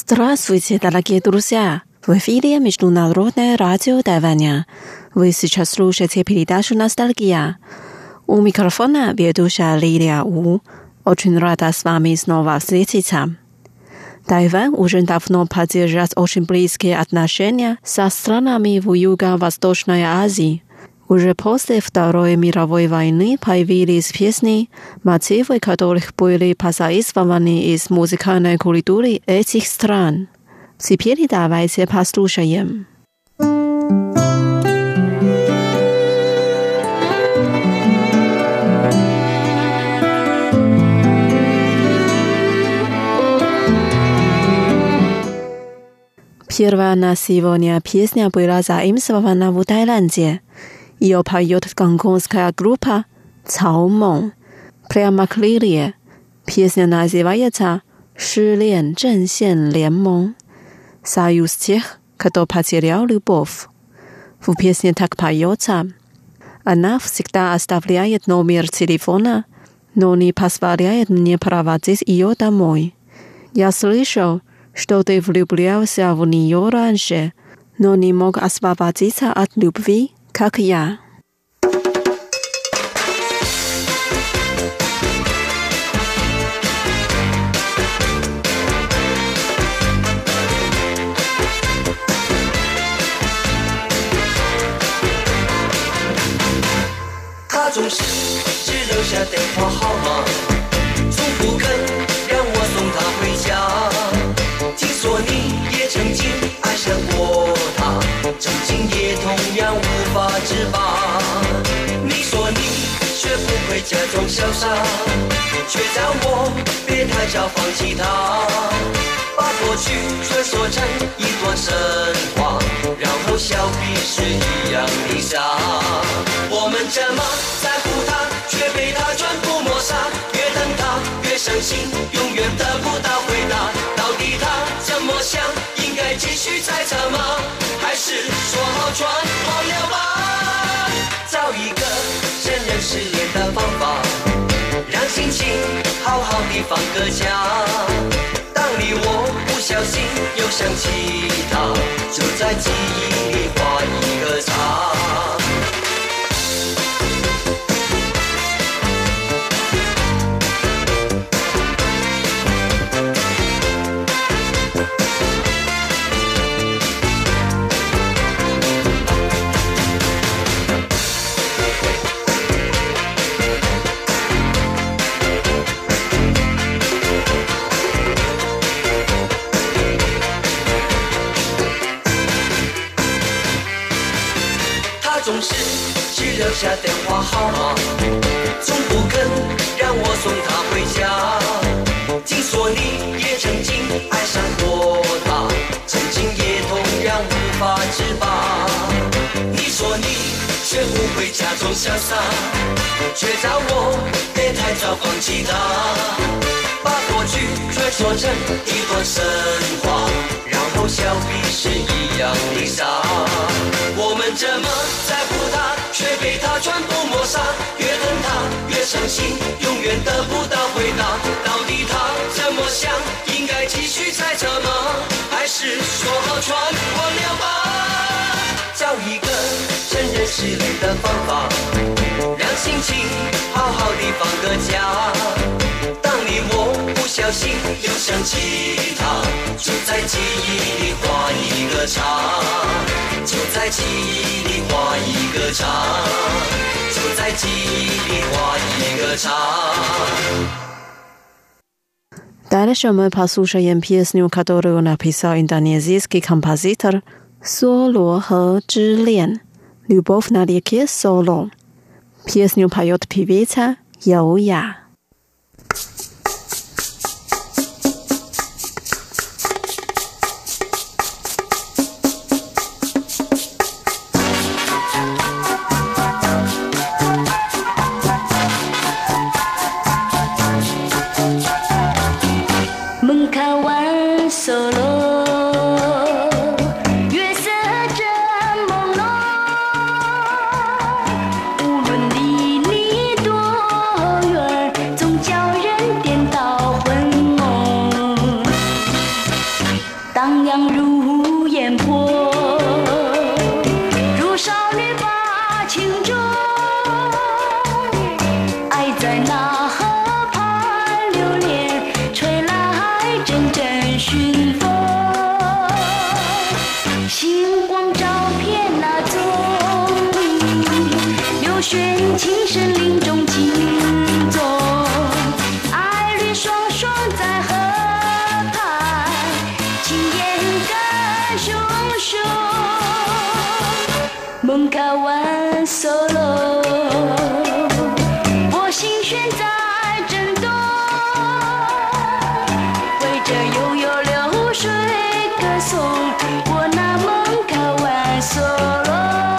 Здравствуйте, дорогие друзья! В эфире Международное радио Тайваня. Вы сейчас слушаете передачу «Ностальгия». У микрофона ведущая Лилия У. Очень рада с вами снова встретиться. Тайвань уже давно поддерживает очень близкие отношения со странами в Юго-Восточной Азии. Уже после Второй мировой войны появились песни, мотивы которых были позаимствованы из музыкальной культуры этих стран. Теперь давайте послушаем. Первая на сегодня песня была заимствована в Таиланде. Ее поет гонконгская группа «Цао Мэн». Прямо к лирии. Песня называется «失恋阵线联盟» «Союз тех, кто потерял любовь». В песне так поется. Она всегда оставляет номер телефона, но не позволяет мне проводить ее домой. Я слышал, что ты влюблялся в нее раньше, но не мог освободиться от любви, как я. 他总是只留下电话号码，从不肯让我送他回家。听说你也曾经爱上过他，曾经也同样无法自拔。你说你学不会假装潇洒，却叫我别太早放弃他，把过去传说成一段神话，然后笑彼是一样的傻。我们这么在乎他，却被他全部抹杀，越等他越伤心，永远得不到回答。到底他怎么想？应该继续猜测吗？还是说好全忘了吧？找一个承认失恋的方法，让心情好好的放个假。当你我不小心又想起他，就在记忆里画一个叉。总是只留下电话号码，从不肯让我送她回家。听说你也曾经爱上过他，曾经也同样无法自拔。你说你学不会假装潇洒，却叫我别太早放弃他，把过去传说成一段神话，然后笑彼是一样的傻。我们这么在乎他，却被他全部抹杀，越等他越伤心，永远得不到回答。到底他怎么想？应该继续猜测吗？还是说好全忘了吧？找一个承认失恋的方法，让心情好好的放个假。当你我不小心又想起他，就在记忆里画一个叉，就在记忆里画一个叉，就在记忆里画一个叉。 Дальше мы послушаем песню, которую написал индонезийский композитор Соло He之恋 «Любовь на реке Соло». Песню поет певица Яо Я. 情深林中情重，爱侣双双在河畔，情眼更熊熊，梦开完solo，我心弦在震动，围着悠悠流水歌颂，我那梦开完solo。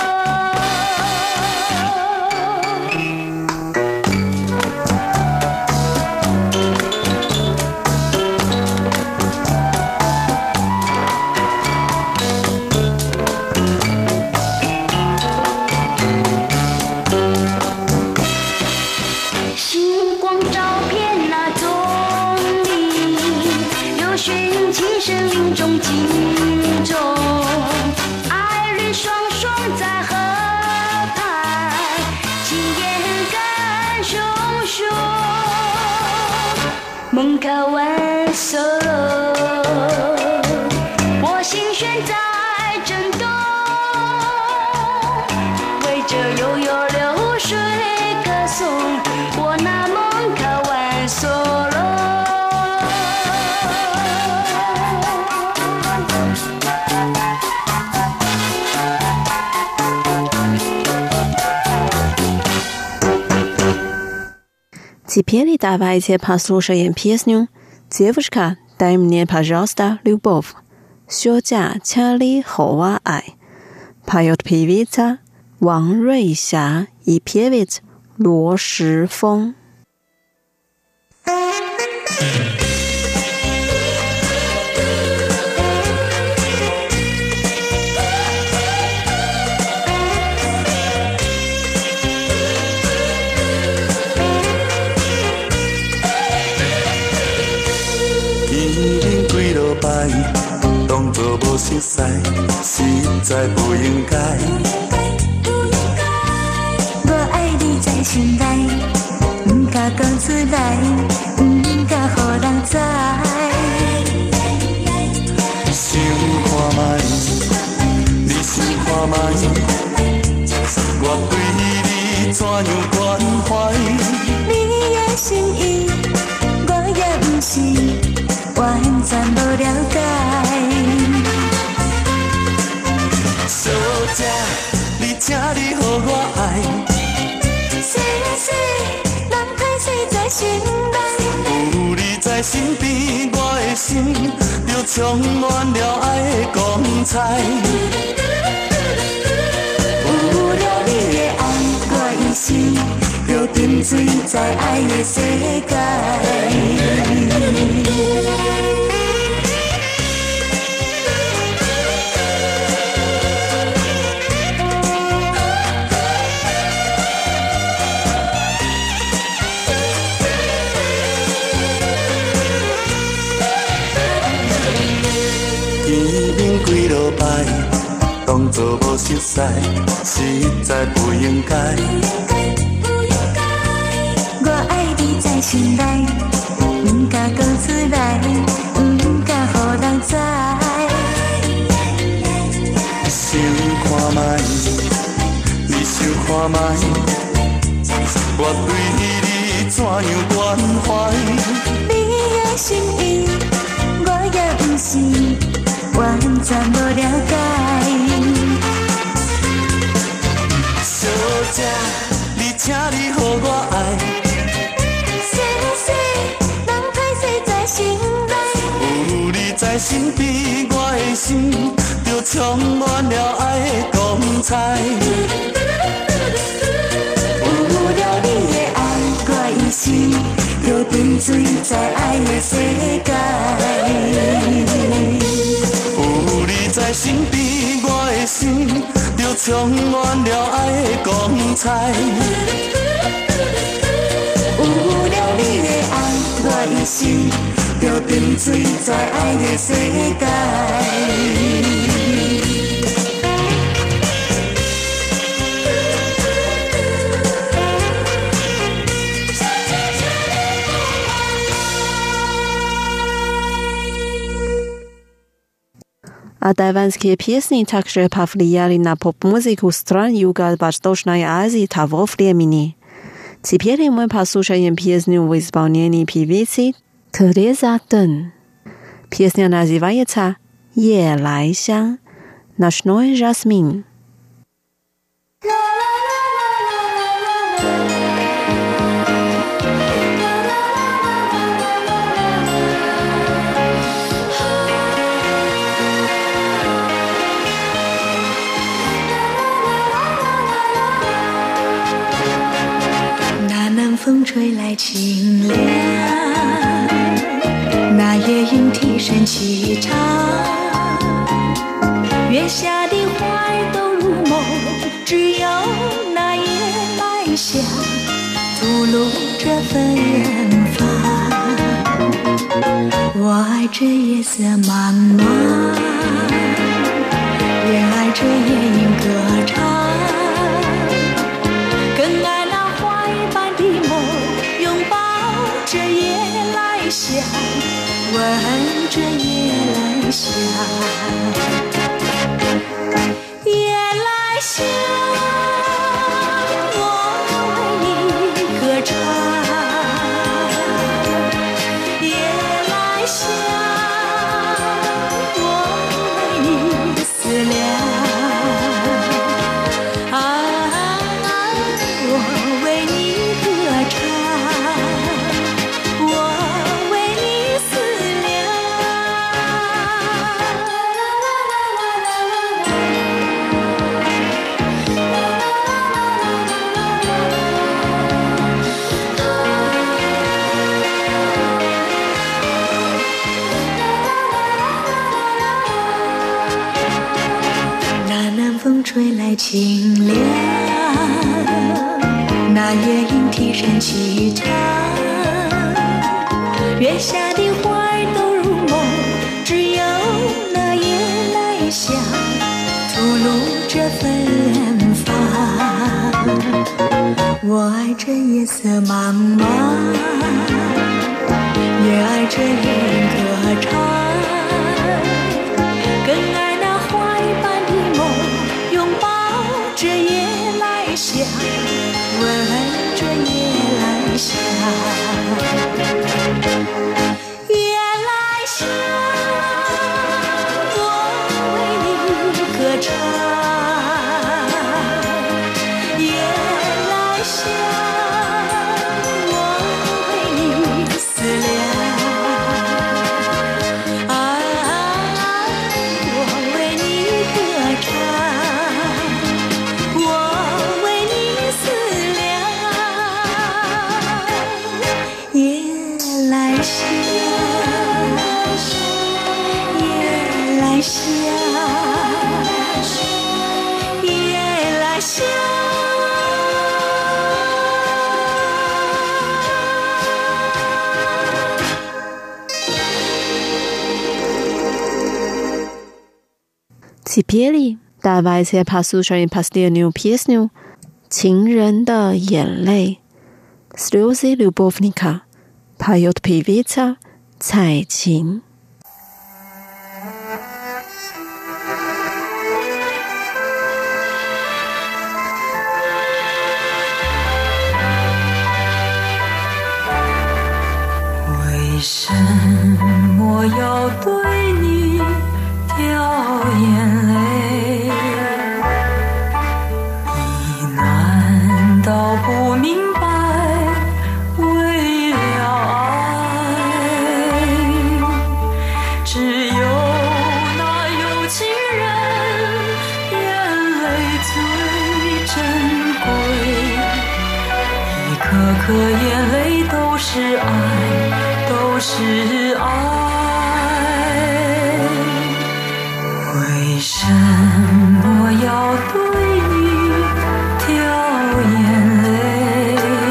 星光照遍那丛林，有寻情深林中情重，爱侣双双在河畔，情眼更熊熊，梦开完solo，我心弦在震动，围着悠悠流水歌颂，我那梦开完solo。 Теперь давайте послушаем песню «Девушка, дай мне, пожалуйста, любовь». 休假千里后爱. Поет певица Ван Руйся и певец Luo Shifeng. 当作无熟悉，实在不应该。 我爱你在心内，不敢讲出来，不敢予人知。 想看卖，你想看卖，我对你怎样关怀？ 你的心意，我也不是。完全无了解， 小姐，你请你予我爱。 是是，人歹势在心内。 有你在身边，我的心就充满了爱的光彩。 有了你的爱，我一生就沉醉在爱的世界。 几落摆，当作无熟悉，实在不应该。 我爱你在心内，不敢讲出来，不敢予人知。 想看卖，你想看卖，我对你怎样关怀？ 你的心意，我也不是。完全无了解， 小姐，你请你予我爱。 是是，人歹势在心内。 有你在身边，我的心就充满了爱的光彩。 有了你的爱，我一生就沉醉在爱的世界。 在身边，我的心就充满了爱的光彩。 有了你的爱，我一生就沉醉在爱的世界。 А тайванские песни также повлияли на поп-музыку стран Юго-Восточной Азии того времени. Теперь мы послушаем песню в исполнении певицы Тереза Дэн. Песня называется «夜来香» «Ночной жасмин». 风吹来清凉，那夜莺啼声齐唱，月下的花儿都入梦，只有那夜来香吐露着芬芳。我爱这夜色茫茫，也爱这夜莺歌唱，更爱这夜来香，闻着夜来香，夜来香，我为你歌唱，夜来香，我为你思量，我为你歌唱。吹来清凉，那夜莺啼声齐唱，月下的花儿都入梦，只有那夜来香吐露着芬芳。我爱这夜色茫茫，也爱这夜莺歌唱，更爱那花儿般的梦，这夜来香，闻着夜来香，夜来香，我为你歌唱，夜来香，我为你思量，我为你歌唱。 Теперь давайте послушаем последнюю песню «情人的眼泪» «Слезы любовника» поет певица Цай Чин。 为什么要对你掉眼泪？你难道不明白，为了爱，只有那有情人眼泪最珍贵，一颗颗眼泪都是爱，都是爱。为什么要对你掉眼泪？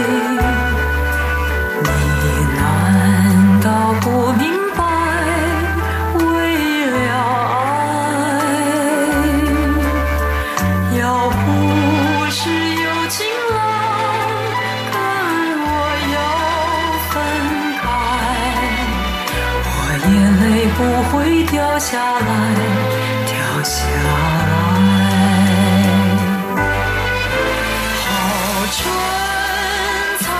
你难道不明白，为了爱，要不是有情郎跟我要分开，我眼泪不会掉下来，掉下来。好春草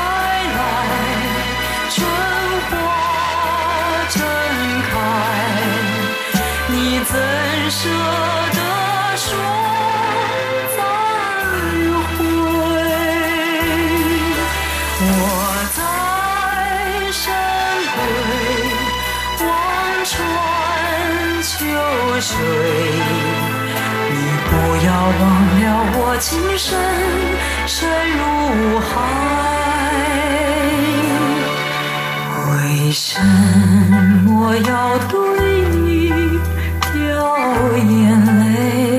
舍得说再会。我在深闺望穿秋水，你不要忘了我情深深如海。为什么要对你掉眼泪？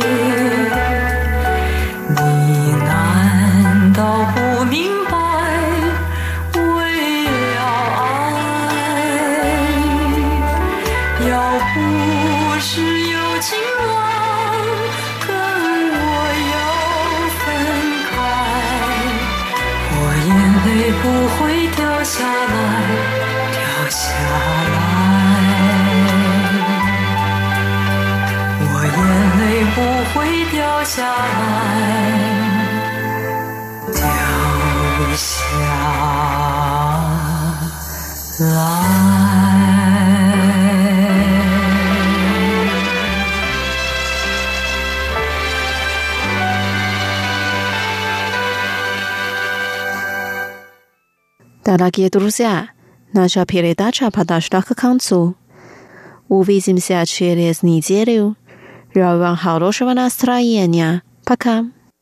你难道不明白为了爱？要不是有情郎跟我要分开，我眼泪不会掉下来。下来，我眼泪不会掉下来，掉下来。 Дорогие друзья, наша передача подошла к концу. Увидимся через неделю. Желаю вам хорошего настроения. Пока.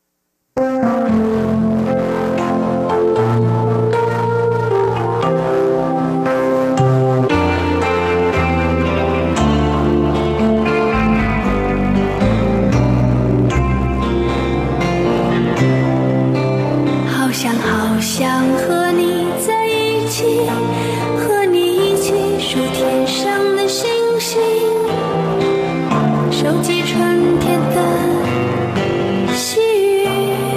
好想和你在一起，和你一起数天上的星星，收集春天的细雨。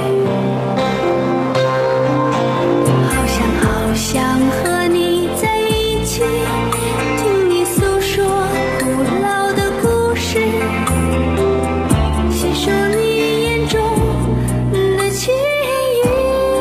好想和你在一起，听你诉说古老的故事，细数你眼中的情意。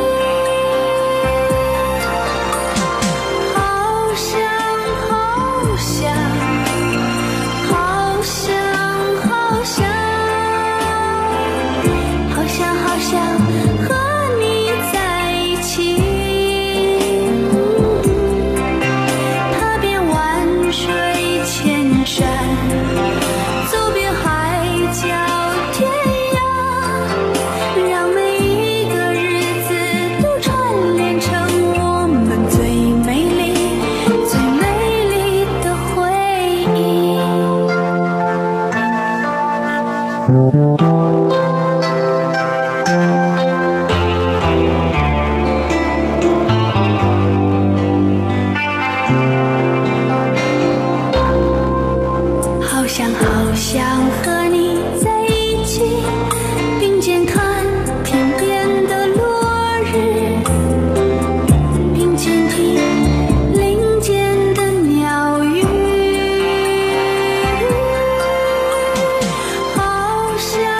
好想和你在一起，并肩看天边的落日，并肩听林间的鸟语。好想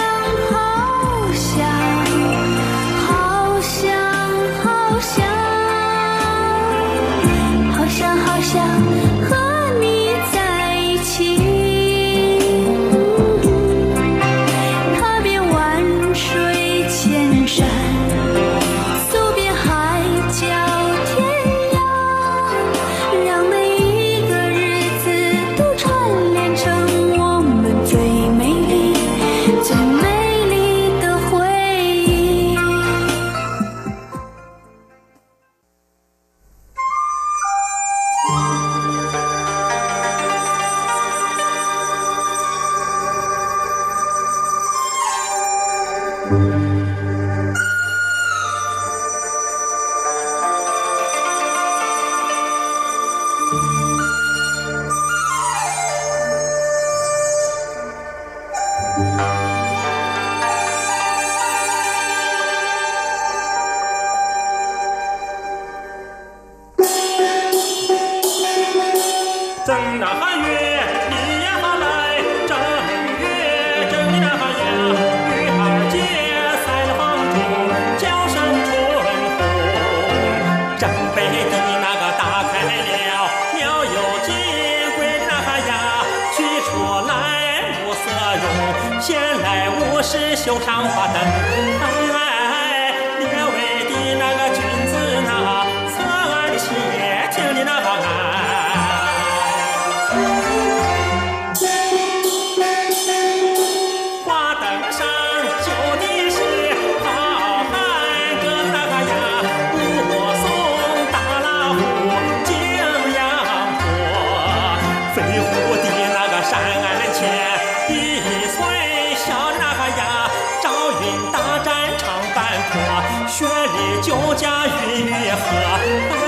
绣上花灯。列位的那个君子呐，侧耳且听你那个花灯上绣的是好汉歌那个呀，武松打老虎景阳坡，飞虎的那个山前一岁小那个呀，赵云大战长坂坡，雪里酒家云雨河。